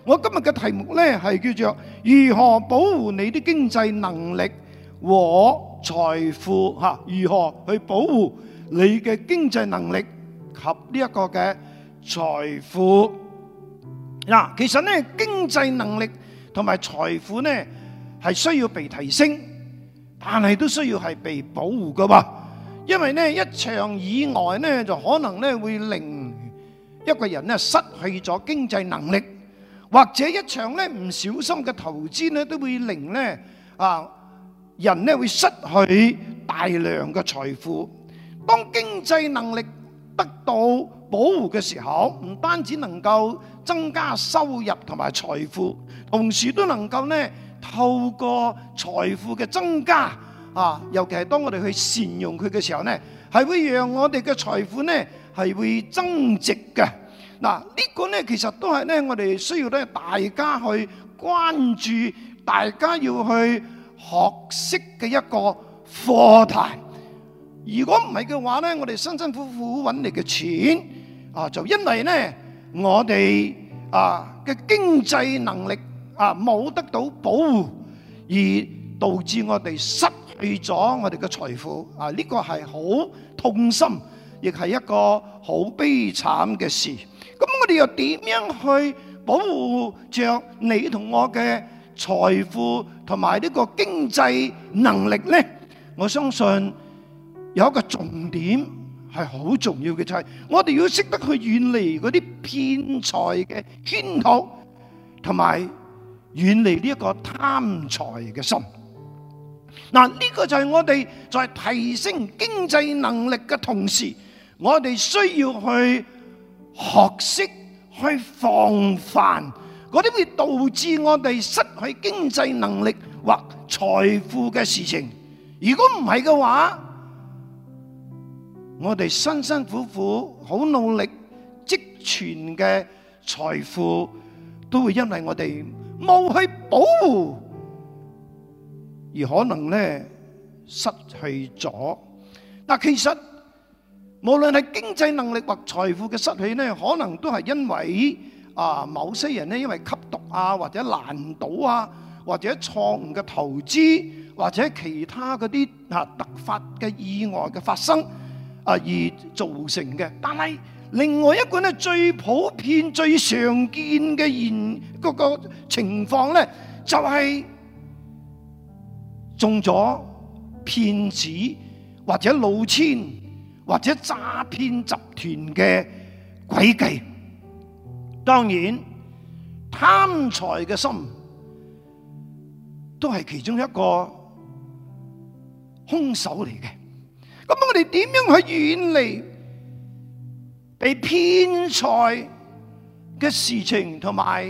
我今日嘅題目呢係叫做如何保護你的經濟能力和財富嚇？如何去保護你嘅經濟能力及呢一個嘅財富？嗱，其實呢經濟能力同埋財富呢係需要被提升，但係都需要係被保護噶噃。因為呢一場意外呢就可能呢會令一個人呢失去咗經濟能力。或者一場咧唔小心嘅投資咧，都會令咧人咧會失去大量嘅財富。當經濟能力得到保護嘅時候，唔單止能夠增加收入同埋財富，同時都能夠咧透過財富嘅增加尤其係當我哋去善用佢嘅時候咧，係會讓我哋嘅財富咧係會增值嘅。嗱，呢個咧其實都係咧，我哋需要咧大家去關注，大家要去學識嘅一個課題。如果唔係嘅話咧，我哋辛辛苦苦揾嚟嘅錢就因為咧我哋嘅經濟能力冇得到保護，而導致我哋失去咗我哋嘅財富。呢個係好痛心，亦係一個好悲慘嘅事。咁我哋又點樣去保護着你同我嘅財富同埋呢個經濟能力呢？我相信有一個重點係好重要嘅，就係我哋要識得去遠離嗰啲騙財嘅圈套，同埋遠離呢一個貪財嘅心。嗱，呢個就係我哋在提升經濟能力嘅同時，我哋需要去學識去防範嗰啲會導致我哋失去經濟能力或財富嘅事情。如果唔係嘅話，我哋辛辛苦苦好努力積存嘅財富，都會因為我哋冇去保護，而可能咧失去咗。嗱，其實無論係經濟能力或財富嘅失去呢，可能都係因為某些人呢，因為吸毒或者爛賭或者錯誤嘅投資，或者其他嗰啲突發嘅意外嘅發生而造成嘅。但係另外一個呢，最普遍、最常見嘅嗰個情況呢，就係中咗騙子或者老千，或者詐騙集團嘅詭計。當然貪財嘅心都係其中一個兇手嚟嘅。咁我哋點樣去遠離被騙財嘅事情同埋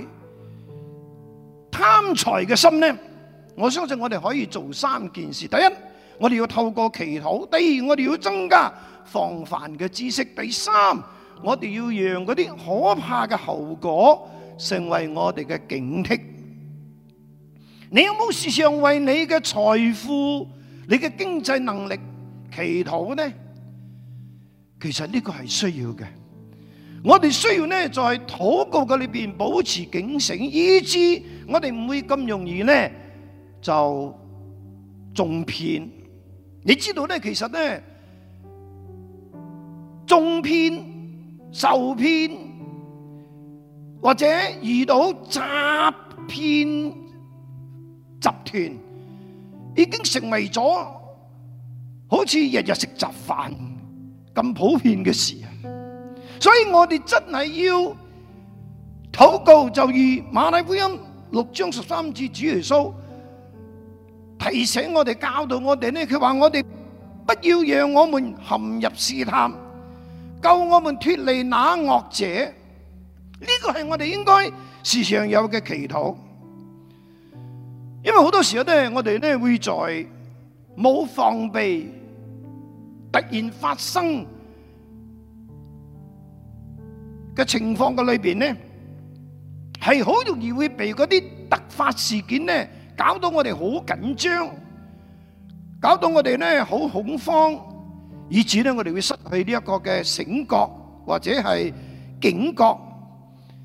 貪財嘅心呢？我相信我哋可以做3件事。第一，我哋要透過祈禱；第二，我哋要增加防範嘅知識；第三，我哋要讓嗰啲可怕嘅後果成為我哋嘅警惕。你有冇時常為你嘅財富、你嘅經濟能力祈禱呢？其實呢個係需要嘅。我哋需要呢，在禱告嘅裏邊保持警醒，以致我哋唔會咁容易呢就中騙。你知道呢，其實呢，中騙、受騙或者遇到詐騙集團，已經成為咗好似日日食雜飯咁普遍嘅事啊！所以我哋真係要禱告，就如馬太福音6章13節，主耶穌提醒我哋、教導我哋呢，佢話我哋不要讓我們陷入試探，救我們脫離那惡者。呢個係我哋應該時常有嘅祈禱。因為好多時候呢，我哋呢會在冇防備、突然發生嘅情況嘅裏邊呢，係好容易會被嗰啲突發事件呢搞到我哋好緊張，搞到我哋呢好恐慌，以致呢我哋會失去呢一個嘅醒覺或者係警覺，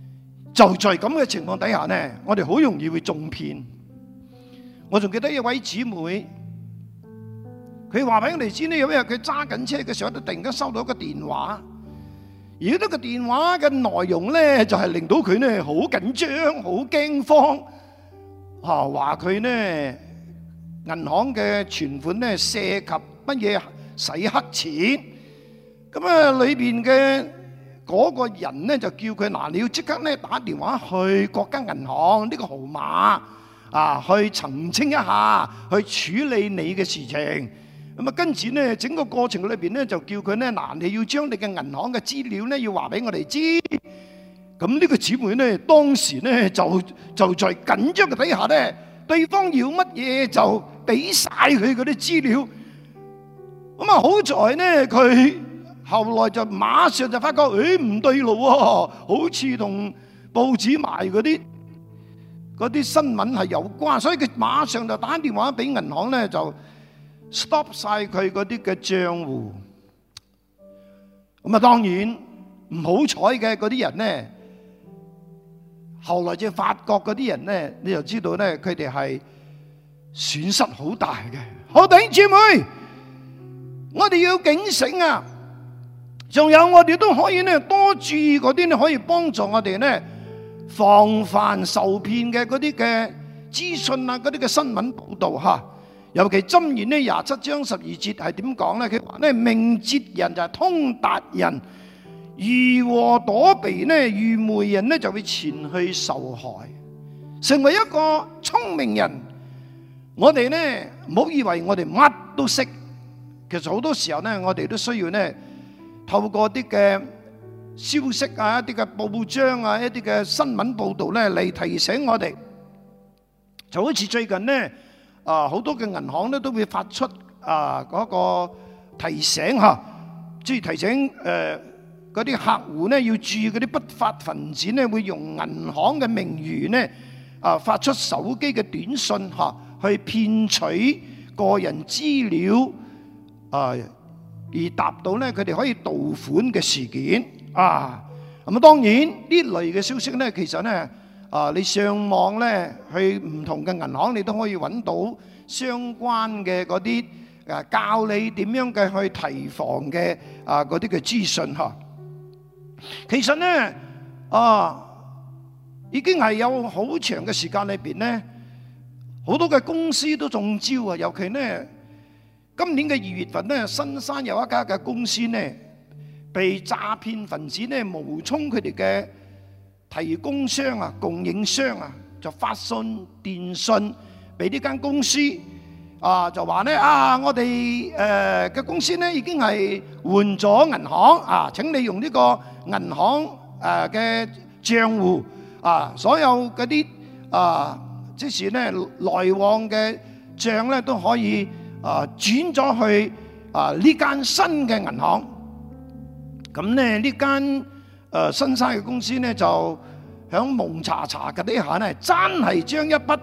就在咁嘅情況底下呢，我哋好容易會中騙。我仲記得一位姊妹，佢話俾我哋知呢，有一日佢揸緊車嘅時候，都突然間收到一個電話，而呢個電話嘅內容呢，就係令到佢呢好緊張、好驚慌，話佢呢銀行嘅存款呢涉及乜嘢洗黑錢，咁啊裏邊嘅嗰個人呢就叫佢嗱，你要即刻呢打電話去國家銀行呢個號碼去澄清一下，去處理你嘅事情。咁啊跟住呢整個過程裏邊呢就叫佢呢嗱，你要將你嘅銀行嘅資料呢要話俾我哋知。咁呢個姊妹呢當時呢就在緊張嘅底下呢，對方要乜嘢就俾晒佢嗰啲資料。咁啊好在呢佢後來就馬上就發覺，唔對路喎，好似同報紙賣嗰啲新聞係有關，所以佢馬上就打電話俾銀行呢，就 stop 晒佢嗰啲嘅賬戶。咁啊當然唔好彩嘅嗰啲人呢，後來就發覺嗰啲人呢，你就知道呢，佢哋係損失好大嘅。好，弟兄姊妹，我哋要警醒啊！仲有我哋都可以呢多注意嗰啲呢，可以幫助我哋呢防範受騙嘅嗰啲嘅資訊啊，嗰啲嘅新聞報導嚇。尤其箴言呢27章12節係點講呢？佢話呢，明哲人就係通達人，如禍躲避呢，愚昧人呢就會前去受害。成為一個聰明人，我哋呢唔好以為我哋乜都識，其實好多時候呢，我哋都需要呢透過啲嘅消息啊、一啲嘅報章啊、一啲嘅新聞報導咧嚟提醒我哋。就好似最近呢，好多嘅銀行咧都會發出嗰個提醒嚇，即係提醒嗰啲客戶呢要注意嗰啲不法分子呢會用銀行嘅名譽呢發出手機嘅短信嚇，去騙取個人資料而達到呢佢哋可以盜款嘅事件啊。咁啊當然呢類嘅消息呢，其實呢你上網呢去唔同嘅銀行，你都可以揾到相關嘅嗰啲教你點樣嘅去提防嘅嗰啲嘅資訊嚇。其實呢已經係有好長嘅時間裏邊呢，好多嘅公司都中招啊。尤其呢今年嘅2月份呢，新山有一家嘅公司呢，被詐騙分子呢冒充佢哋嘅提供商啊、供應商啊，就發信電信俾呢間公司就話呢我哋嘅公司呢已經係換咗銀行請你用呢個銀行嘅賬戶所有嗰啲即是呢來往嘅賬呢都可以轉咗去呢間新嘅銀行。咁呢間新山嘅公司呢就響蒙查查嘅底下呢，真係將一筆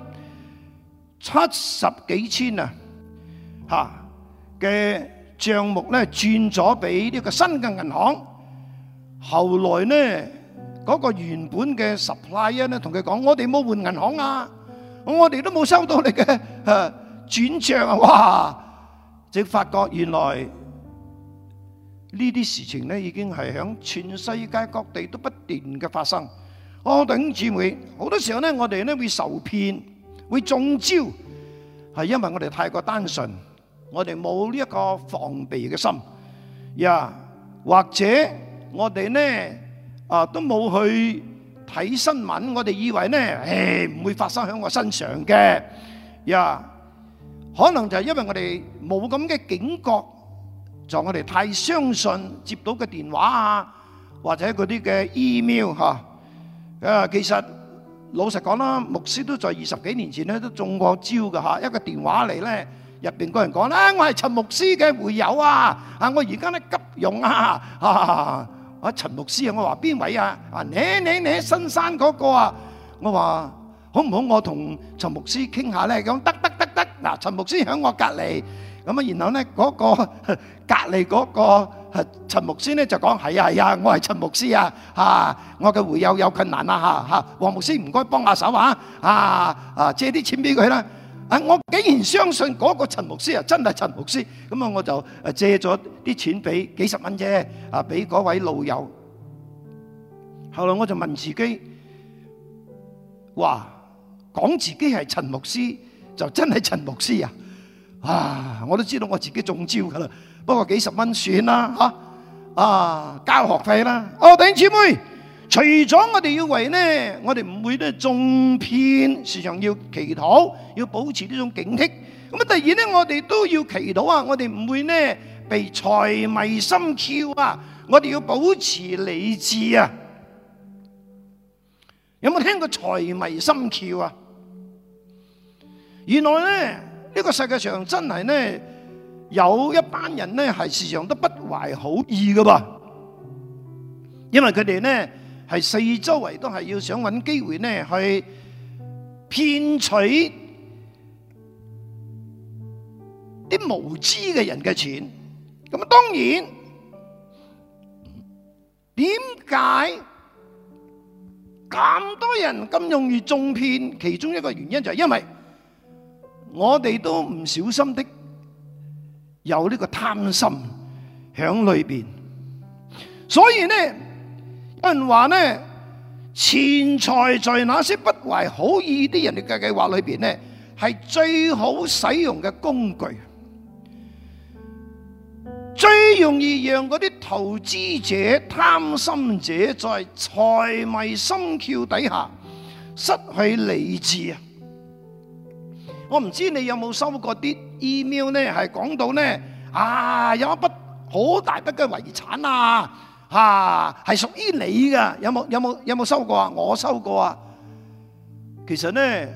70幾千嘅帳目呢轉咗俾呢個新嘅銀行。後來呢嗰個原本嘅 supplier 呢同佢講：我哋冇換銀行啊，我哋都冇收到你嘅轉賬啊！哇！即發覺原來呢啲事情呢已經係響全世界各地都不斷嘅發生。弟兄姊妹，好多時候呢我哋呢會受騙，會中招，係因為我哋太過單純，我哋冇呢一個防備嘅心，或者我哋呢都冇去睇新聞，我哋以為呢唔會發生喺我身上嘅，可能就係因為我哋冇咁嘅警覺，就我哋太相信接到嘅電話或者嗰啲嘅 email 其實老實講啦，牧師都在20幾年前咧都中過招㗎。一個電話嚟咧，入邊個人講啦：我係陳牧師嘅會友我而家咧急用陳牧師我話邊位你新山嗰個我話好唔好？我同陳牧師傾下咧，講得。嗱，陳牧師喺我隔離，咁然後咧嗰個隔離嗰個陳牧師咧就講係啊，我係陳牧師啊，我嘅會友有困難啊嚇，黃牧師唔該幫下手借啲錢俾佢啦。我竟然相信嗰個陳牧師真係陳牧師，咁啊我就借咗啲錢俾幾十蚊啫，俾嗰位老友。後來我就問自己，哇，講自己係陳牧師就真係陳牧師啊！我都知道我自己中招噶啦，不過幾十蚊算啦交學費啦。弟兄姊妹，除咗我哋要為呢，我哋唔會呢中騙，時常要祈禱，要保持呢種警惕。咁啊，第二呢，我哋都要祈禱我哋唔會呢被財迷心竅我哋要保持理智有冇聽過財迷心竅原來呢個世界上真係呢有一班人呢係時常都不懷好意噶噃，因為佢哋呢係四周圍都係要想揾機會呢去騙取啲無知嘅人嘅錢。咁啊，當然點解咁多人咁容易中騙？其中一個原因就係因為我哋都唔小心的有呢個貪心響裏邊，所以呢有人話呢，錢財在那些不懷好意啲人嘅計劃裏邊呢，係最好使用嘅工具，最容易讓嗰啲投資者、貪心者在財迷心竅底下失去理智我唔知你有冇收過啲 email 呢，係講到呢有一筆好大筆嘅遺產係屬於你噶，有冇收過我收過其實呢，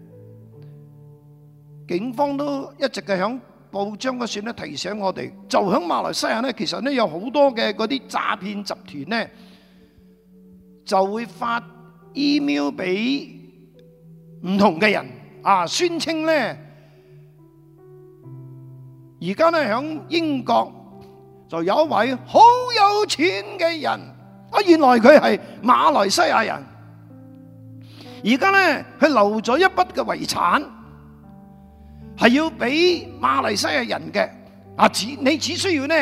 警方都一直係響報章嗰處提醒我哋，就響馬來西亞呢，其實呢有好多嘅嗰啲詐騙集團呢，就會發 email 俾唔同嘅人宣稱呢，而家呢響英國就有一位好有錢嘅人，原來佢係馬來西亞人，而家呢佢留咗一筆嘅遺產，係要俾馬來西亞人嘅，你只需要呢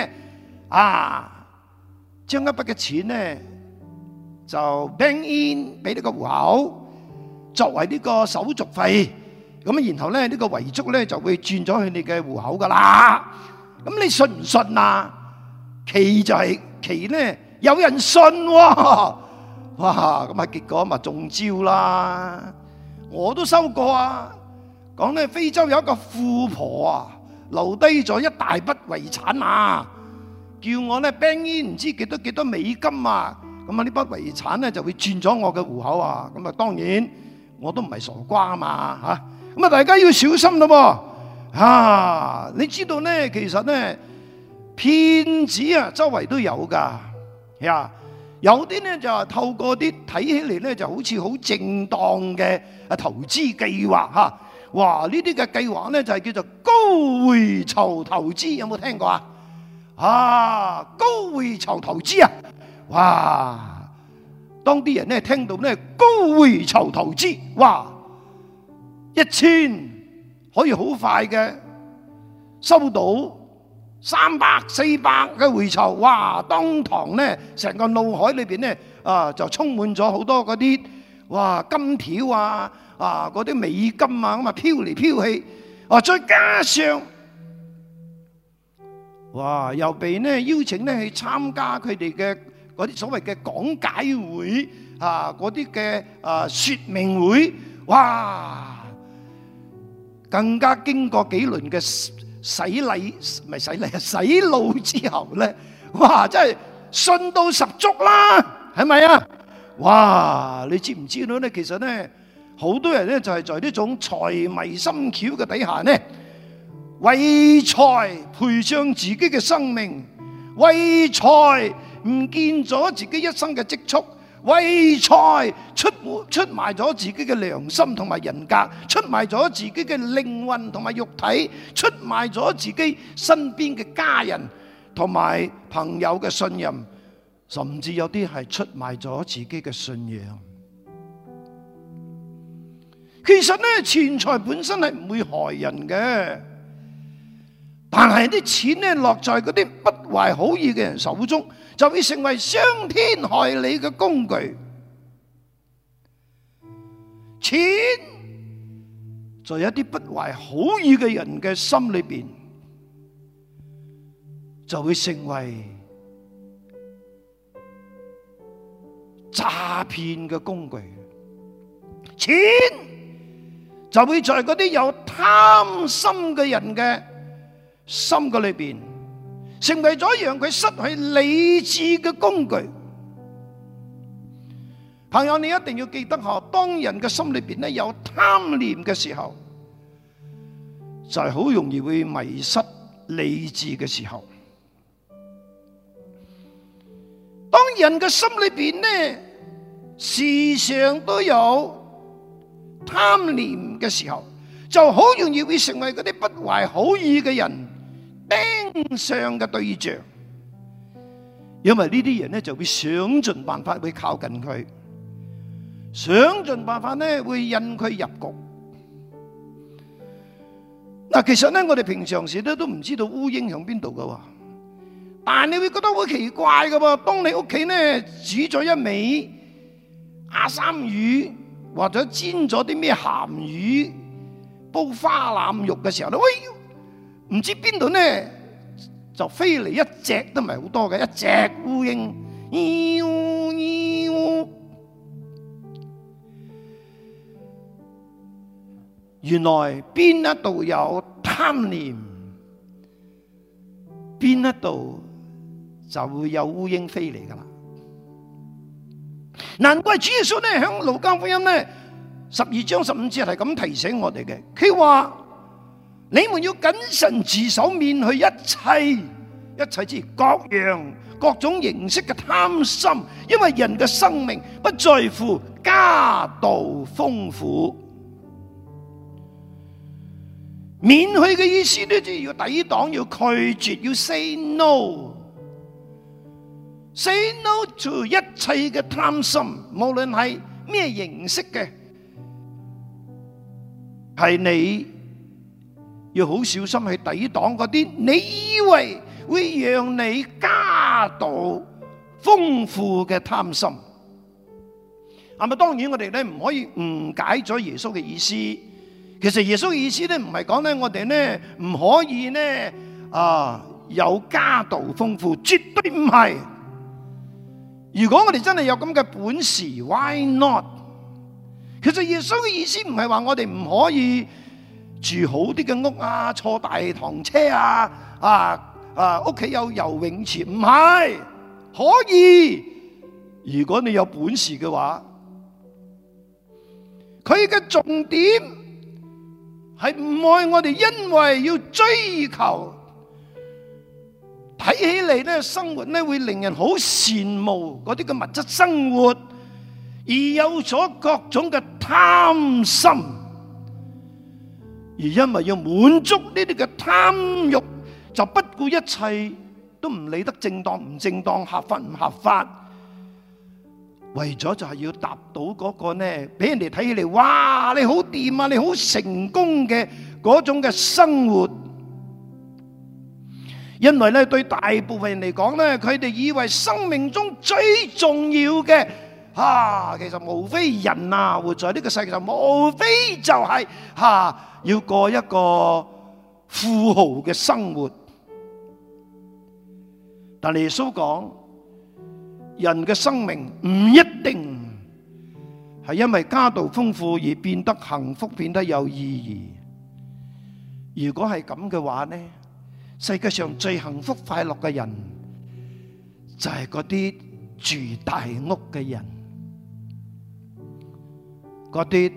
將一筆嘅錢呢就 bank in 俾呢個戶口，作為呢個手續費。咁然後咧呢個遺囑咧就會轉咗去你嘅戶口噶啦。咁你信唔信奇就係奇呢，有人信哇！咁結果咪中招啦。我都收過講呢非洲有一個富婆留低咗一大筆遺產叫我呢 bank in 唔知幾多美金咁呢筆遺產呢就會轉咗我嘅戶口咁當然我都唔係傻瓜咁大家要小心咯你知道呢，其實呢騙子周圍都有噶有啲呢就透過啲睇起嚟呢就好似好正當嘅投資計劃呢啲嘅計劃呢就係叫做高回酬投資，有冇聽過高回酬投資當啲人呢聽到呢高回酬投資1000可以好快嘅收到300、400嘅回酬，當堂呢成個腦海裏邊呢就充滿咗好多嗰啲金條嗰啲美金咁飄嚟飄去，再加上又被呢邀請呢去參加佢哋嘅嗰啲所謂嘅講解會嗰啲嘅說明會，更加經過幾輪嘅洗腦之後呢，真係信到十足啦，係咪你知唔知道呢？其實呢，好多人呢就係在呢種財迷心竅嘅底下呢，為財賠上自己嘅生命，為財唔見咗自己一生嘅積蓄，為財出賣咗自己嘅良心同埋人格，出賣咗自己嘅靈魂同埋肉體，出賣咗自己身邊嘅家人， 同埋朋友嘅信任，甚至有啲係出賣咗自己嘅信仰。其實咧，錢財本身係唔會害人嘅，但係啲錢咧落在嗰啲不懷好意嘅人手中，就會成為傷天害理嘅工具。錢在一啲不懷好意嘅人嘅心裏邊，就會成為詐騙嘅工具。錢就會在嗰啲有貪心嘅人嘅心嘅裏邊，成為咗讓佢失去理智嘅工具。朋友，你一定要記得嗬，當人嘅心裏邊咧有貪念嘅時候，就係好容易會迷失理智嘅時候。當人嘅心裏邊咧時常都有貪念嘅時候，就好容易會成為嗰啲不懷好意嘅人盯上嘅對象，因為呢啲人咧就會想盡辦法會靠近佢，想盡辦法咧會引佢入局。嗱，其實咧我哋平常時咧都唔知道烏蠅響邊度噶，但係你會覺得好奇怪噶喎。當你屋企咧煮咗一味亞參魚，或者煎咗啲咩鹹魚、煲花腩肉嘅時候咧，喂，唔知邊度咧就飛嚟一隻都唔係好多嘅一隻烏蠅，原來邊一度有貪念，邊一度就會有烏蠅飛嚟噶啦。難怪主耶穌咧響路加福音咧12章15節係咁提醒我哋嘅，佢話你們要謹慎自守，免去一切之各樣各種形式嘅貪心，因為人嘅生命不在乎家道豐富。免去嘅意思咧，就要抵擋，要拒絕，要 say no。Say no to 一切嘅貪心，無論係咩形式嘅，係你要好小心去抵擋嗰啲你以為會讓你家道豐富嘅貪心。係咪？當然我哋咧唔可以誤解咗耶穌嘅意思。其實耶穌嘅意思咧唔係講咧我哋咧唔可以咧有家道豐富，絕對唔係。如果我哋真係有咁嘅本事 ，why not？ 其實耶穌嘅意思唔係話我哋唔可以住好啲嘅屋啊，坐大堂車啊，屋企有游泳池，唔係，可以。如果你有本事嘅話，佢嘅重點係唔愛我哋，因為要追求。睇起嚟咧，生活咧會令人好羨慕嗰啲嘅物質生活，而有咗各種嘅貪心，而因為要滿足呢啲嘅貪慾，就不顧一切，都唔理得正當唔正當、合法唔合法，為咗就係要達到嗰個咧，俾人哋睇起嚟，哇！你好掂啊，你好成功嘅嗰種嘅生活。因為咧，對大部分人嚟講咧，佢哋以為生命中最重要嘅其實無非人活在呢個世界上，無非就係要過一個富豪嘅生活。但係耶穌講，人嘅生命唔一定係因為家道豐富而變得幸福，變得有意義。如果係咁嘅話呢，世界上最幸福快樂嘅人就係嗰啲住大屋嘅人，嗰啲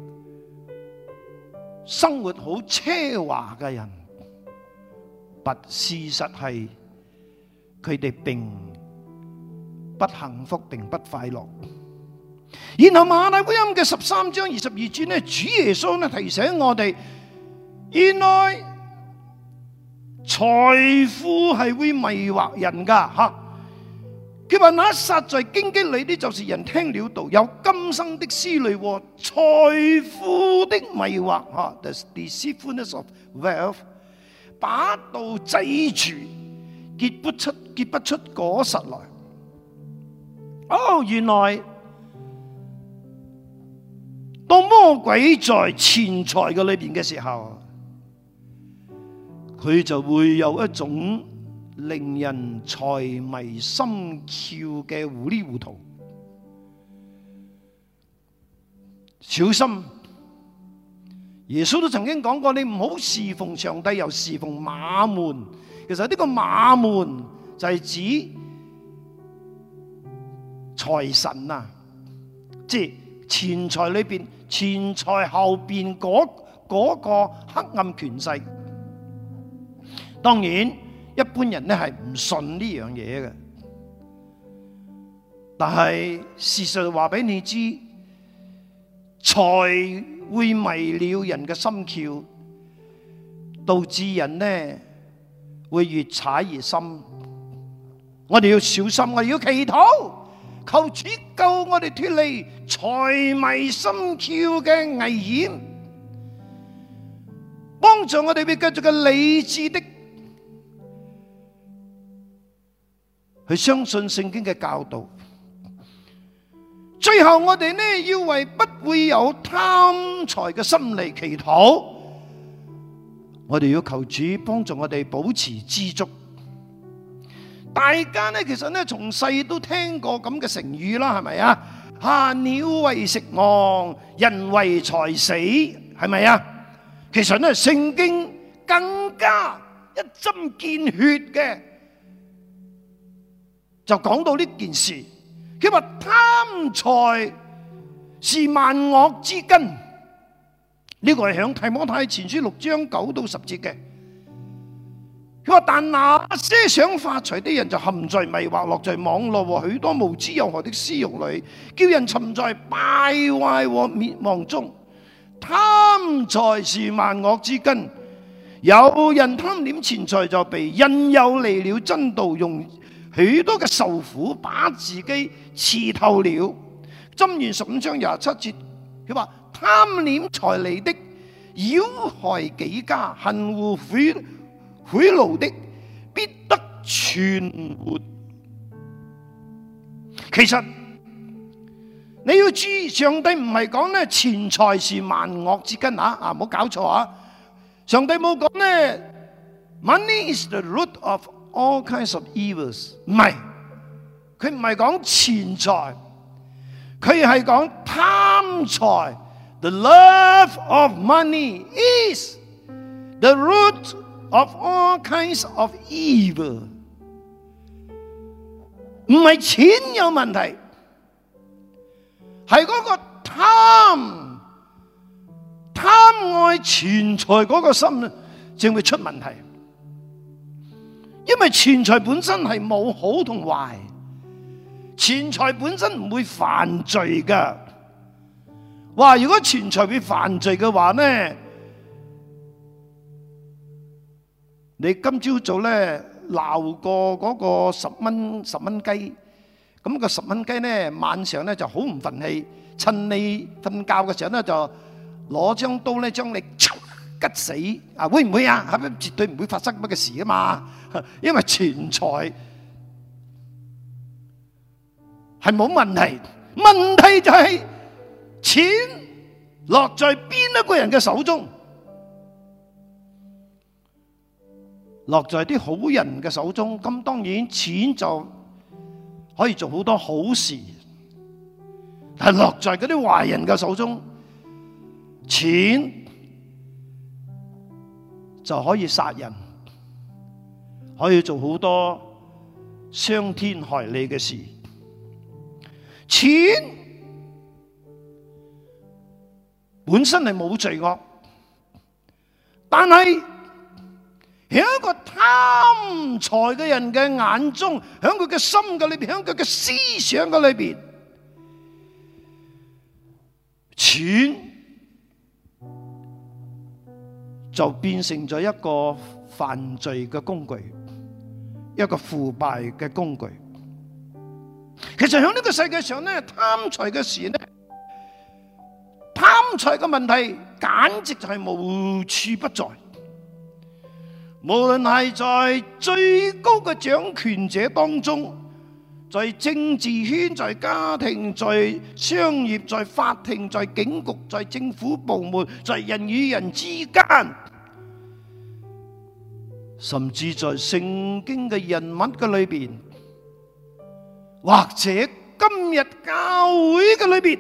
生活好奢華嘅人。但事實係佢哋並不幸福，並不快樂。然後馬太福音嘅13章22節呢，主耶穌呢提醒我哋，原來財富係會迷惑人噶吓。佢話那撒在荊棘裏的，就是人聽了道，有今生的思慮和財富的迷惑吓。The deceitfulness of wealth， 把道擠住，結不出果實來。哦，原來當魔鬼在錢財嘅裏邊嘅時候，佢就會有一種令人財迷心竅嘅糊裡糊塗。小心！耶穌都曾經講過，你唔好侍奉上帝又侍奉馬門。其實呢個馬門就係指財神啊，即係錢財裏邊，錢財後邊嗰個黑暗權勢。當然，一般人咧係唔信呢樣嘢嘅，但係事實話俾你知，財會迷了人嘅心竅，導致人呢會越踩越深。我哋要小心，我哋要祈禱，求主救我哋脫離財迷心竅嘅危險，幫助我哋會繼續嘅理智的去相信聖經嘅教導。最後我哋呢要為不會有貪財嘅心嚟祈禱。我哋要求主幫助我哋保持知足。大家呢其實呢從細都聽過咁嘅成語啦，係咪啊？鳥為食亡，人為財死，係咪啊？其實呢聖經更加一針見血嘅就講到呢件事。佢話貪財是萬惡之根，呢個係響提摩太前書6章9到10節嘅。佢話但那些想發財的人就陷在迷惑，落在網絡和許多無知有害的私欲裏，叫人沉在敗壞和滅亡中。貪財是萬惡之根，有人貪戀錢財就被引誘離了真道，用許多嘅受苦把自己刺透了。箴言15章27節，佢話貪戀財利的擾害己家，恨惡賄賂的必得存活。其實你要注意，上帝唔係講咧錢財是萬惡之根啊！唔好搞錯啊！上帝冇講咧 Money is the root of all kinds of evils， 唔係，佢唔係講錢財，佢係講貪財。The love of money is the root of all kinds of evil。 唔係錢有問題，係嗰個貪愛錢財嗰個心正會出問題。因為錢財本身係冇好同壞，錢財本身唔會犯罪噶。哇！如果錢財會犯罪嘅話呢，你今朝早咧鬧過嗰個10蚊雞，咁個10蚊雞呢晚上呢就好唔忿氣，趁你瞓覺嘅時候呢就攞張刀咧將你吉死啊！會唔會啊？係咪絕對唔會發生乜嘅事啊嘛？因為錢財係冇問題，問題就係錢落在邊一個人嘅手中，落在啲好人嘅手中，咁當然錢就可以做好多好事。但係落在嗰啲壞人嘅手中，錢就可以殺人，可以做好多傷天害理嘅事。錢本身係冇罪惡，但係喺一個貪財嘅人嘅眼中，喺佢嘅心嘅裏邊，喺佢嘅思想嘅裏邊，錢就變成咗一個犯罪嘅工具，一個腐敗嘅工具。其實喺呢個世界上咧，貪財嘅事咧，貪財嘅問題簡直就係無處不在。無論係在最高嘅掌權者當中，在政治圈、在家庭、在商業、在法庭、在警局、在政府部門、在人與人之間，甚至在聖經嘅人物嘅裏邊，或者今日教會嘅裏邊，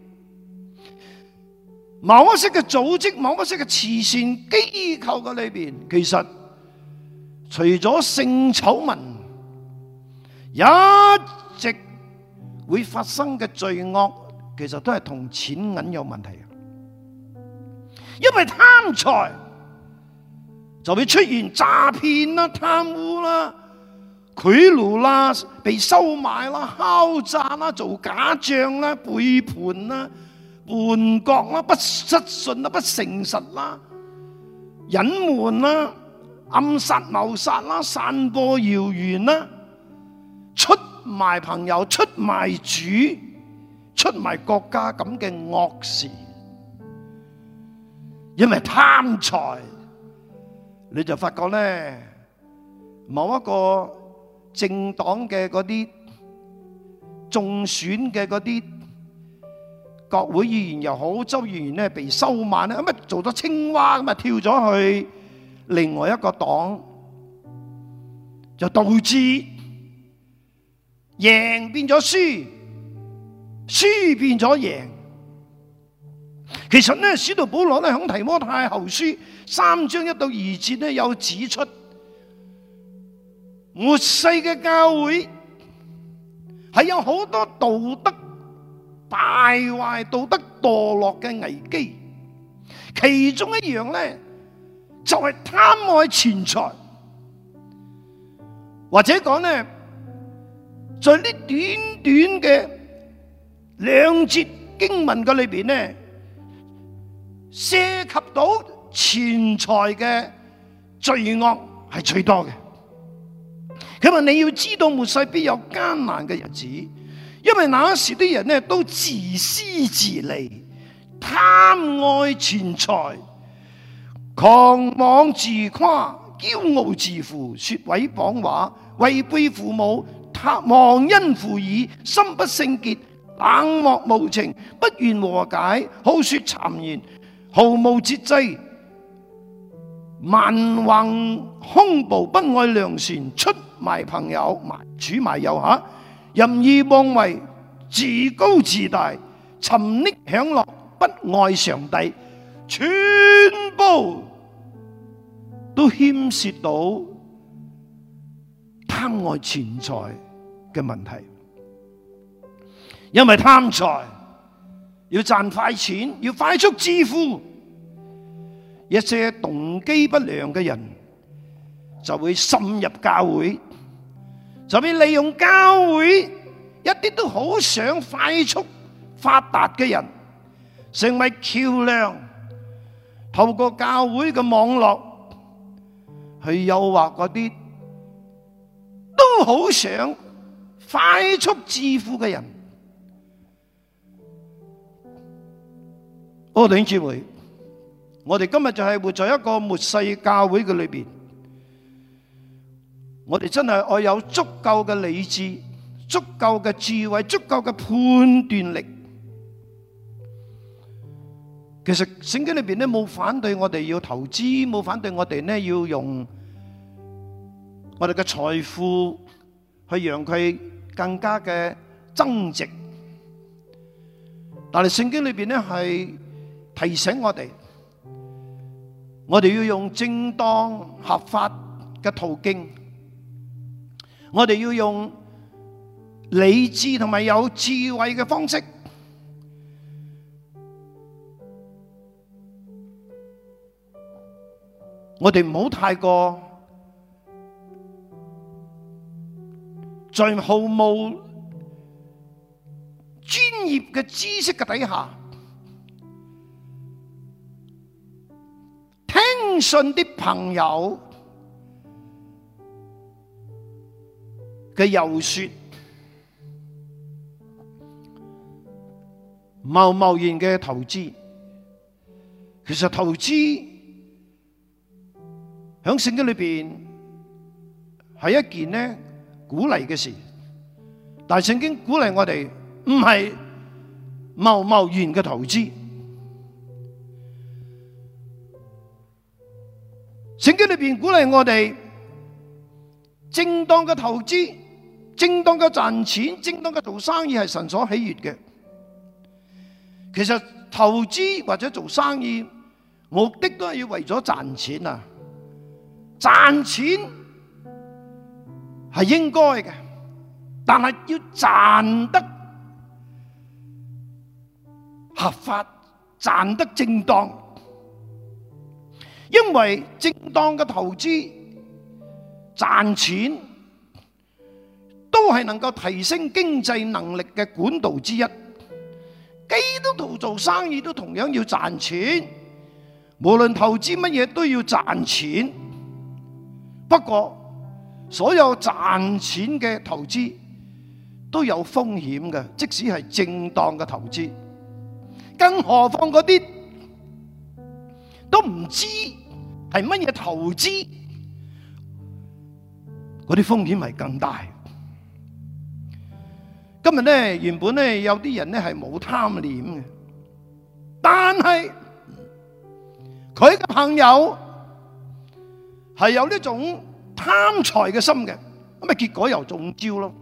某一些嘅組織、某一些嘅慈善機構嘅裏邊，其實除咗性醜聞，一直會發生嘅罪惡，其實都係同錢銀有問題。因為貪財就會出現詐騙啦、貪污啦、賄賂啦、被收買啦、敲詐啦、做假賬啦、背叛啦、叛國啦、不失信啦、不誠實啦、隱瞞啦、暗殺謀殺啦、散播謠言啦、出賣朋友、出賣主、出賣國家咁嘅惡事。因為貪財，你就發覺咧，某一個政黨嘅嗰啲中選嘅嗰啲國會議員又好，州議員咧被收買咧，咁啊做咗青蛙咁啊跳咗去另外一個黨，就導致贏變咗輸，輸變咗贏。其實咧，使徒保羅咧喺提摩太後書3章1到2節咧有指出，末世嘅教會係有好多道德敗壞、道德墮落嘅危機，其中一樣咧就係貪愛錢財，或者講咧，在呢短短嘅2節經文嘅裏邊咧，涉及到錢財嘅罪惡係最多嘅。佢話你要知道末世必有艱難嘅日子，因為那時啲人咧都自私自利，貪愛錢財，狂妄自誇，驕傲自負，說毀謗話，違背父母，忘恩負義，心不聖潔，冷漠無情，不願和解，好說讒言，毫無節制，蠻橫兇暴，不愛良善，出賣朋友，主賣友嚇，任意妄為，自高自大，沉溺享樂，不愛上帝，全部都牽涉到貪愛錢財嘅問題。因為貪財要賺快錢，要快速致富，一些動機不良嘅人就會滲入教會，就會利用教會一啲都好想快速發達嘅人，成為橋梁，透過教會嘅網絡去誘惑嗰啲都好想快速致富嘅人。弟兄姊妹，我哋今日就係活在一個末世教會嘅裏邊，我哋真係愛有足夠嘅理智、足夠嘅智慧、足夠嘅判斷力。其實聖經裏邊咧冇反對我哋要投資，冇反對我哋咧要用我哋嘅財富去讓佢更加嘅增值。但係聖經裏邊咧係提醒我哋要用正當合法嘅途徑，我哋要用理智同埋有智慧嘅方式，我哋唔好太過在毫無專業嘅知識嘅底下，聽信啲朋友嘅遊說，貿貿然嘅投資。其實投資喺聖經裏邊係一件呢鼓勵嘅事，但係聖經鼓勵我哋唔係貿貿然嘅投資。聖經裏邊鼓勵我哋正當嘅投資、正當嘅賺錢、正當嘅做生意係神所喜悅嘅。其實投資或者做生意目的都係要為咗賺錢啊！賺錢係應該嘅，但係要賺得合法、賺得正當。因為正當嘅投資賺錢都係能夠提升經濟能力嘅管道之一。基督徒做生意都同樣要賺錢，無論投資乜嘢都要賺錢。不過所有賺錢嘅投資都有風險嘅，即使係正當嘅投資，更何況嗰啲都唔知係乜嘢投資，嗰啲風險係更大。今日咧，原本咧有啲人咧係冇貪念嘅，但係佢嘅朋友係有呢種貪財嘅心嘅，咁啊結果又中招咯。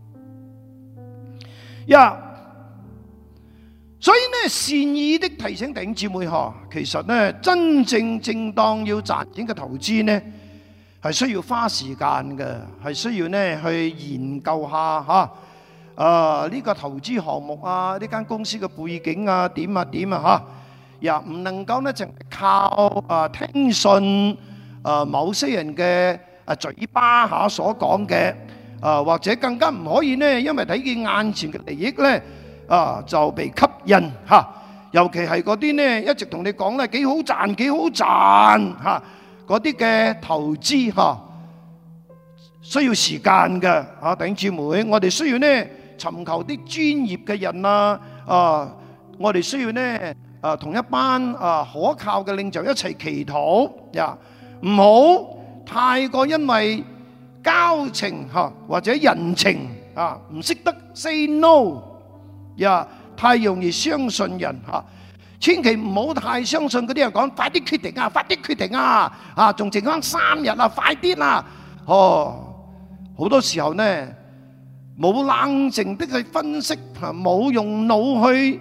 所以呢，善意的提醒弟兄姊妹嗬，其實呢真正正當要賺錢嘅投資呢，係需要花時間嘅，係需要呢去研究下吓。呢個投資項目啊，呢間公司嘅背景啊，點啊點啊嚇，唔能夠呢淨係靠聽信某些人嘅嘴巴下所講嘅，或者更加唔可以呢，因為睇見眼前嘅利益呢，就被吸引嚇。尤其係嗰啲呢一直同你講咧幾好賺幾好賺嚇，嗰啲嘅投資嚇需要時間嘅嚇，弟兄姊妹，我哋需要呢尋求啲專業嘅人我哋需要呢同一班可靠嘅領袖一齊祈禱唔好太過因為交情或者人情唔識得 say no 太容易相信人千祈唔好太相信嗰啲人講快啲決定啊，快啲決定啊，仲剩翻3日啊，快啲啦！好多時候呢，冇冷靜的去分析，冇用腦去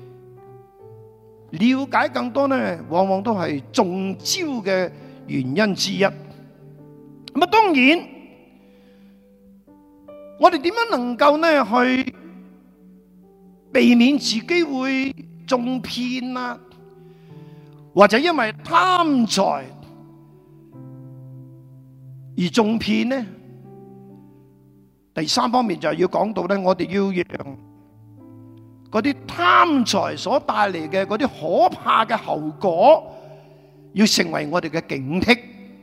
了解更多呢，往往都係中招嘅原因之一。咁當然，我哋點樣能夠呢去避免自己會中騙啊，或者因為貪財而中騙呢？第三方面就係要講到咧，我哋要讓嗰啲貪財所帶嚟嘅嗰啲可怕嘅後果，要成為我哋嘅警惕。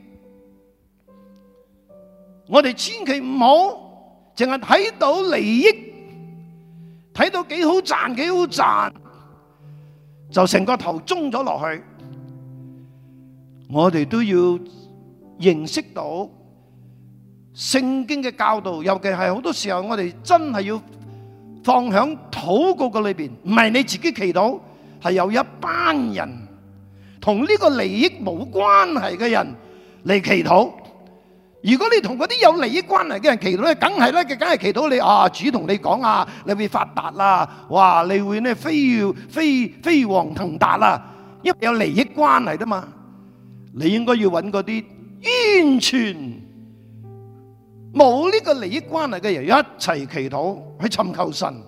我哋千祈唔好淨係睇到利益，睇到幾好賺幾好賺，就成個頭中咗落去。我哋都要認識到聖經嘅教導，尤其係好多時候我哋真係要放響禱告嘅裏邊，唔係你自己祈禱，係有一班人同呢個利益冇關係嘅人嚟祈禱。如果你同嗰啲有利益關係嘅人祈禱咧，梗係祈禱你主同你講你會發達啦，哇，你會呢飛黃騰達啦，因為有利益關係啫嘛。你應該要揾嗰啲完全冇呢個利益關係嘅人一齊祈禱，去尋求神，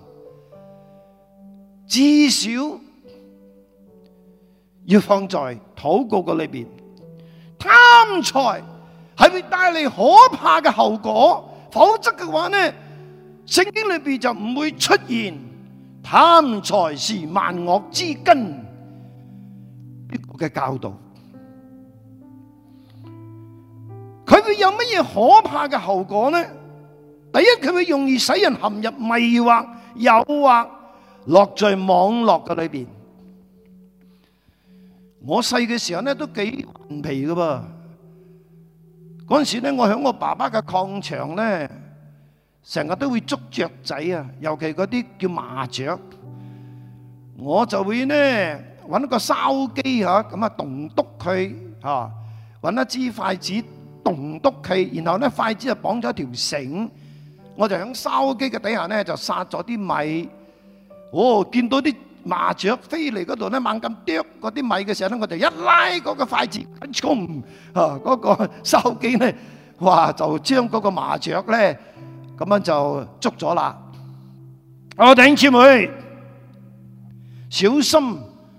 至少要放在禱告嘅裏邊。貪財係會帶嚟可怕嘅後果，否則嘅話呢，聖經裏邊就唔會出現貪財是萬惡之根呢個嘅教導。佢會有乜嘢可怕嘅後果呢？ 第一，佢會容易使人陷入迷惑、誘惑，落在網絡嘅裏邊。我細嘅時候咧都幾頑皮㗎噃。嗰陣時咧，我喺我爸爸嘅礦場咧，成日都會捉雀仔啊，尤其嗰啲叫麻雀。我就會咧揾個筲箕嚇，咁啊棟篤佢嚇，揾一支筷子棟篤佢，然後咧筷子就綁咗一條繩，我就喺筲箕嘅底下咧就撒咗啲米。哦，見到啲麻雀飛嚟嗰度咧猛咁啄嗰啲米嘅時候咧，我就一拉嗰個筷子，衝嗰個筲箕咧，哇就將嗰個麻雀咧咁樣就捉咗啦。我弟兄姊妹，小心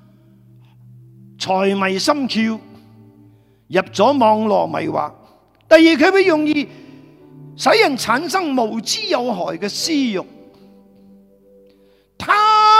財迷心竅，入咗網絡迷惑。第二，佢會容易使人產生無知有害嘅私欲，貪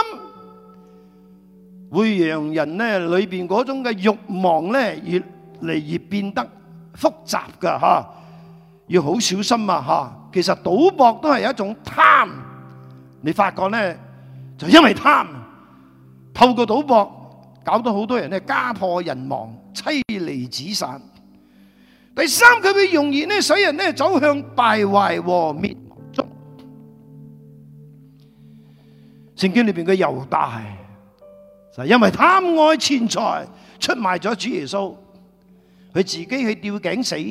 會讓人咧裏邊嗰種嘅慾望咧越嚟越變得複雜噶吓，要好小心啊吓。其實賭博都係一種貪，你發覺咧就因為貪，透過賭博搞到好多人咧家破人亡、妻離子散。第三，佢會容易咧使人咧走向敗壞和滅亡中。聖經裏邊嘅猶大就因為貪愛錢財，出賣咗主耶穌，佢自己去吊頸死，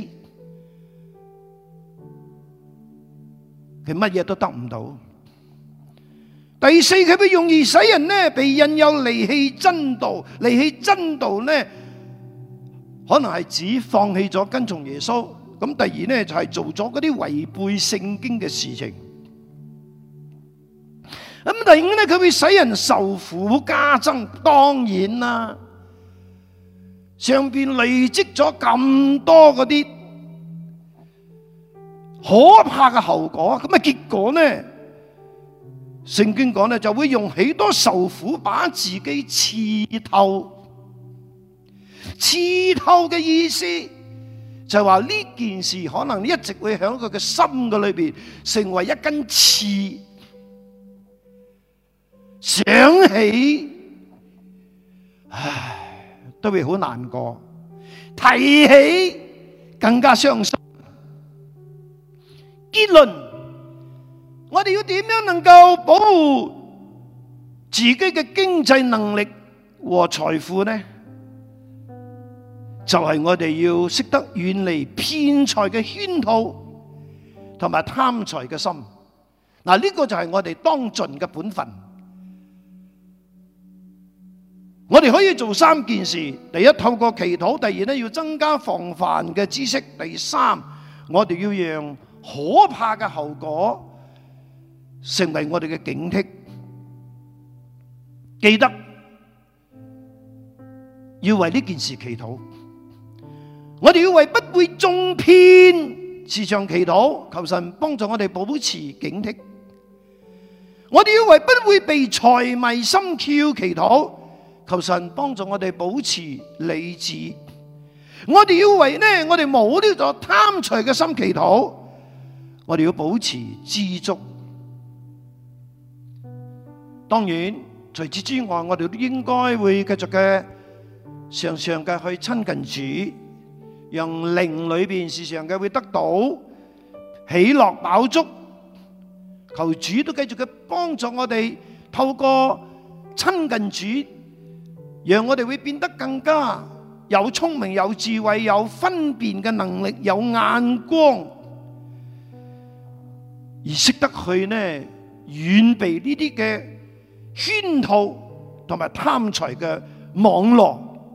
佢乜嘢都得唔到。第四，佢會容易使人咧被引誘離棄真道，離棄真道咧，可能係指放棄咗跟從耶穌。咁第二咧就係做咗嗰啲違背聖經嘅事情。咁第五咧，佢會使人受苦加增。當然啦，上邊累積咗咁多嗰啲可怕嘅後果，咁啊結果咧，聖經講咧就會用許多受苦把自己刺透。刺透嘅意思就係話呢件事可能一直會喺佢嘅心嘅裏邊成為一根刺，想起唉都會好難過，提起更加傷心。結論，我哋要點樣能夠保護自己嘅經濟能力和財富呢？就係我哋要識得遠離騙財嘅圈套同埋貪財嘅心。嗱，呢個就係我哋當盡嘅本分。我哋可以做三件事：第一，透過祈禱；第二咧，要增加防範嘅知識；第三，我哋要讓可怕嘅後果成為我哋嘅警惕。記得要為呢件事祈禱。我哋要為不會中騙時常祈禱，求神幫助我哋保持警惕。我哋要為不會被財迷心竅祈禱，求神幫助我哋保持理智。我哋要為我哋冇呢個貪財嘅心祈禱，我哋要保持知足。當然，除此之外，我哋都應該會繼續嘅常常嘅去親近主。讓靈裏邊時常嘅會得到喜樂飽足，求主都繼續嘅幫助我哋，透過親近主，讓我哋會變得更加有聰明、有智慧、有分辨嘅能力、有眼光，而識得去遠避呢啲嘅圈套同埋貪財嘅網絡。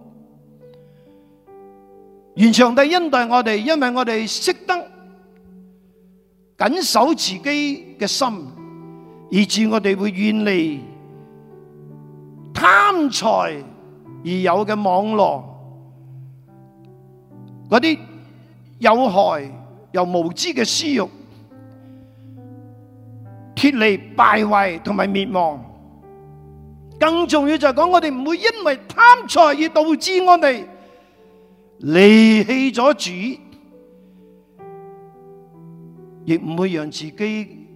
願上帝恩待我哋，因為我哋識得緊守自己嘅心，以致我哋會遠離貪財而有嘅網絡，嗰啲有害又無知嘅私欲，脫離敗壞同埋滅亡。更重要就係講，我哋唔會因為貪財而導致我哋離棄咗主， 亦唔會讓自己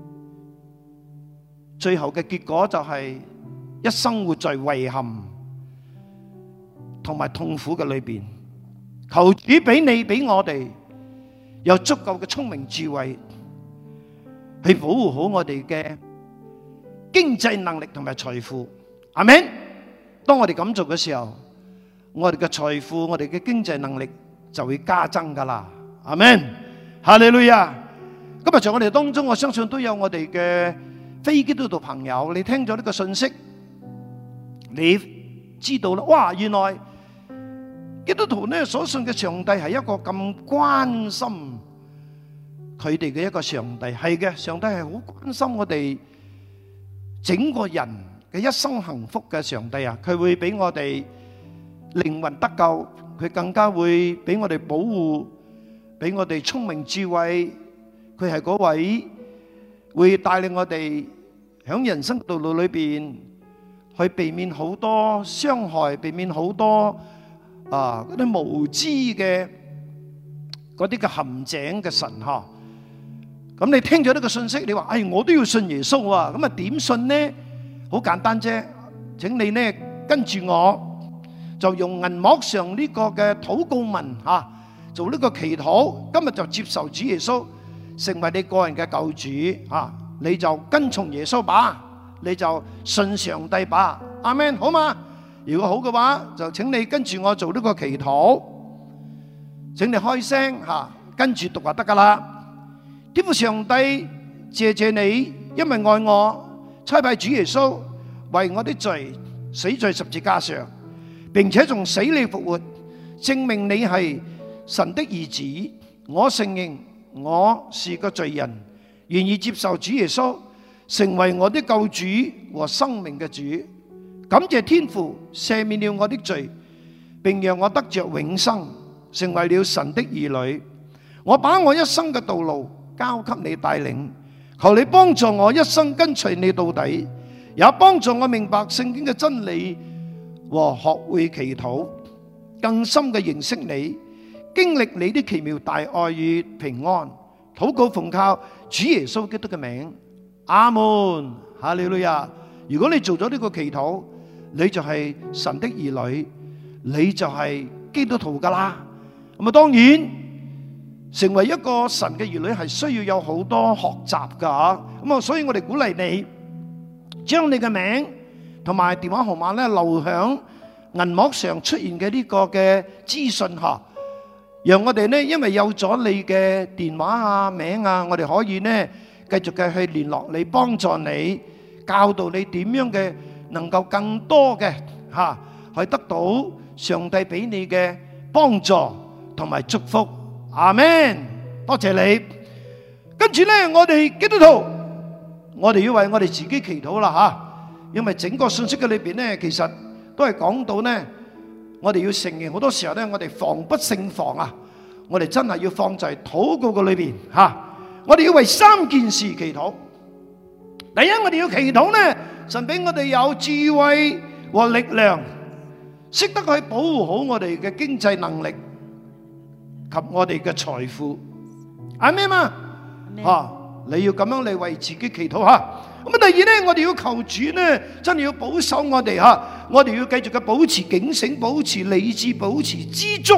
最後嘅結果就係一生活在遺憾同埋痛苦嘅裏邊。求主俾你俾我哋有足夠嘅聰明智慧，去保護好我哋嘅經濟能力同埋財富。阿們，當我哋咁做嘅時候，我哋嘅財富、我哋嘅經濟能力就會加增噶啦。阿們，哈利路亞。今日在我哋當中，我相信都有我哋嘅非基督徒朋友，你聽咗呢個信息，你知道啦。哇，原來基督徒呢所信嘅上帝係一個咁關心佢哋嘅一個上帝。係嘅，上帝係好關心我哋整個人嘅一生幸福嘅上帝啊！佢會俾我哋靈魂得救，佢更加會俾我哋保護，俾我哋聰明智慧。佢係嗰位會帶領我哋喺人生道路裏邊去避免好多傷害，避免好多嗰啲無知嘅嗰啲嘅陷阱嘅神嗬。咁你聽咗呢個信息，你話我都要信耶穌啊！咁啊點信呢？好簡單啫，請你呢跟住我，就用銀幕上呢個嘅禱告文做呢個祈禱。今日就接受主耶穌成為你個人嘅救主啊！你就跟從耶穌吧，你就信上帝吧。阿們，好嘛？如果好嘅話，就請你跟住我做呢個祈禱。請你開聲跟住讀就得噶啦。天父上帝，謝謝你，因為愛我，差派主耶穌為我的罪死在十字架上，並且從死裏復活，證明你係神的兒子。我承認我是個罪人，願意接受主耶穌成為我的救主和生命嘅主。感謝天父赦免了我的罪，並讓我得着永生，成為了神的兒女。我把我一生嘅道路交給你帶領，求你幫助我一生跟隨你到底，也幫助我明白聖經嘅真理和學會祈禱，更深嘅認識你，經歷你的奇妙大愛與平安。禱告奉靠主耶穌基督嘅名，阿門。哈利路亞。如果你做咗呢個祈禱，你就係神的兒女，你就係基督徒噶啦。咁啊，當然成為一個神嘅兒女係需要有好多學習噶。咁啊，所以我哋鼓勵你將你嘅名同埋電話號碼咧留響銀幕上出現嘅呢個嘅資訊吓，讓我哋呢，因為有咗你嘅電話啊、名啊，我哋可以呢繼續嘅去聯絡你，幫助你，教導你點樣嘅能夠更多嘅去得到上帝俾你嘅幫助同埋祝福。阿們，多謝你。跟住呢，我哋基督徒，我哋要為我哋自己祈禱啦因為整個信息嘅裏邊呢，其實都係講到呢，我哋要承認好多時候呢，我哋防不勝防啊！我哋真係要放在禱告嘅裏邊我哋要為3件事祈禱。第一，我哋要祈禱呢，神俾我哋有智慧和力量，識得去保護好我哋嘅經濟能力及我哋嘅財富。阿們嘛，你要咁樣嚟為自己祈禱咁啊，第二呢，我哋要求主呢，真係要保守我哋我哋要繼續嘅保持警醒，保持理智，保持知足，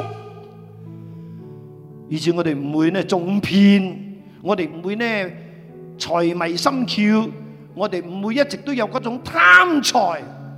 以致我哋唔會呢中騙，我哋唔會呢財迷心竅，我哋唔會一直都有嗰種貪財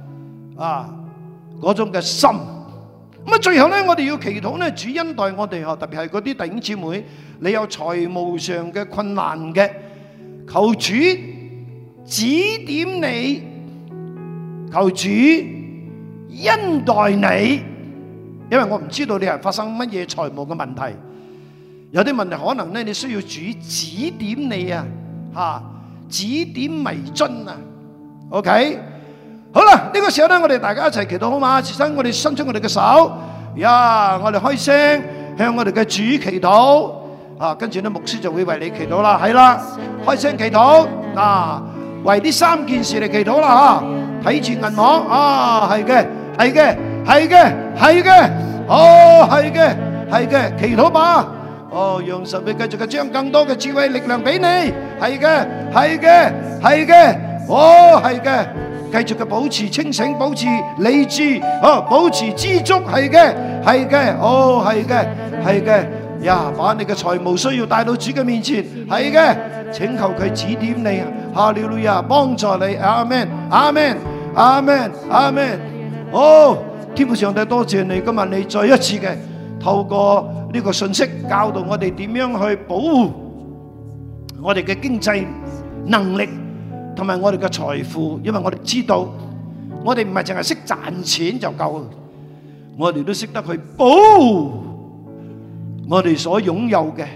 嗰種嘅心。咁啊，最後呢，我哋要祈禱呢，主恩待我哋特別係嗰啲弟兄姊妹，你有財務上嘅困難嘅，求主指點你，求主恩待你，因為我唔知道你係發生乜嘢財務嘅問題，有啲問題可能呢，你需要主指點你指點迷津OK。好啦，呢個時候呢，我哋大家一齊祈禱好嘛？我哋伸出我哋嘅手，我哋開聲向我哋嘅主祈禱跟住呢，牧師就會為你祈禱啦。係啦，開聲祈禱為呢3件事嚟祈禱啦睇住銀幕係嘅，係嘅，係嘅，係嘅，係嘅，係嘅，祈禱吧。 哦，讓神會繼續嘅將更多嘅智慧力量俾你。係嘅，係嘅，係嘅，哦，係嘅。繼續嘅保持清醒，保持理智，哦，保持知足，係嘅，係嘅，哦，係嘅，係嘅。呀，把你嘅財務需要帶到主嘅面前，係嘅，請求佢指點你，哈利路亞，幫助你，阿們，阿們，阿們，阿們。哦，天父上帝多謝你，今日你再一次嘅透過呢個信息教導我哋點樣去保護我哋嘅經濟能力同埋我哋嘅財富，因為我哋知道我哋唔係淨係識賺錢就夠，我哋都識得去保護我哋所擁有嘅。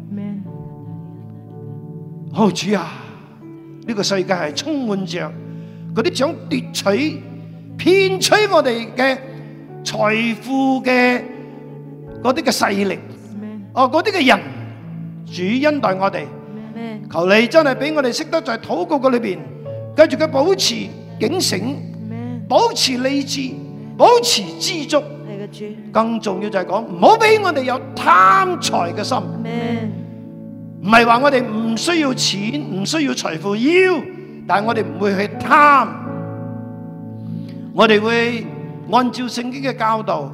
好主啊，呢個世界係充滿着嗰啲想奪取、騙取我哋嘅財富嘅嗰啲嘅勢力，哦，嗰啲嘅人，主恩待我哋，求你真係俾我哋識得在禱告嘅裏邊，繼續嘅保持警醒，保持理智，保持知足。更重要就係講，唔好俾我哋有貪財嘅心。唔係話我哋唔需要錢，唔需要財富要，但係我哋唔會去貪，我哋會按照聖經嘅教導，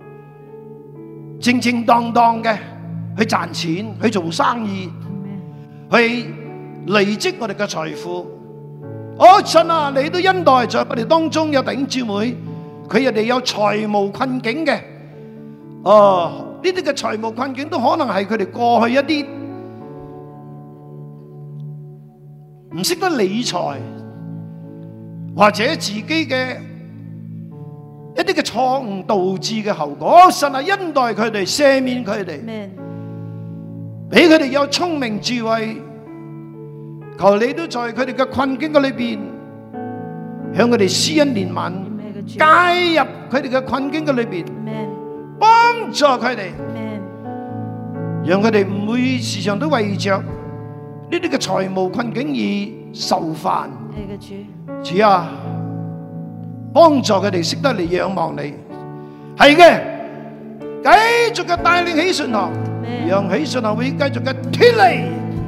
正正當當嘅去賺錢，去做生意，去累積我哋嘅財富。哦，神啊，你都恩待在我哋當中有弟兄姊妹，佢哋有財務困境嘅。哦，呢啲嘅財務困境都可能係佢哋過去一啲唔識得理財，或者自己嘅一啲嘅錯誤導致嘅後果。神啊，恩待佢哋，赦免佢哋，俾佢哋有聰明智慧。求你都在佢哋嘅困境嘅裏邊，向佢哋施恩憐憫，介入佢哋嘅困境嘅裏邊，幫助佢哋，讓佢哋唔會時常都為着呢啲嘅財務困境而受煩。主啊，幫助佢哋識得嚟仰望你。係嘅，繼續嘅帶領喜信堂，讓喜信堂會繼續嘅脫離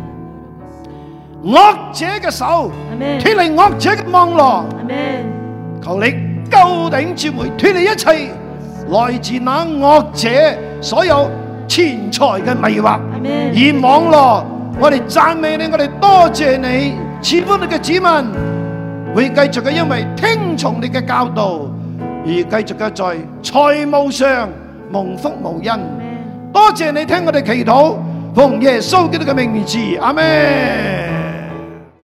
惡者嘅手，脫離惡者嘅網絡。求你救弟兄姊妹脫離一切來自那惡者所有錢財嘅迷惑而網絡。我哋讚美你，我哋多謝你，賜福你嘅子民會繼續嘅因為聽從你嘅教導而繼續嘅在財務上蒙福無恩。多謝你聽我哋祈禱，奉耶穌基督嘅名字，阿們。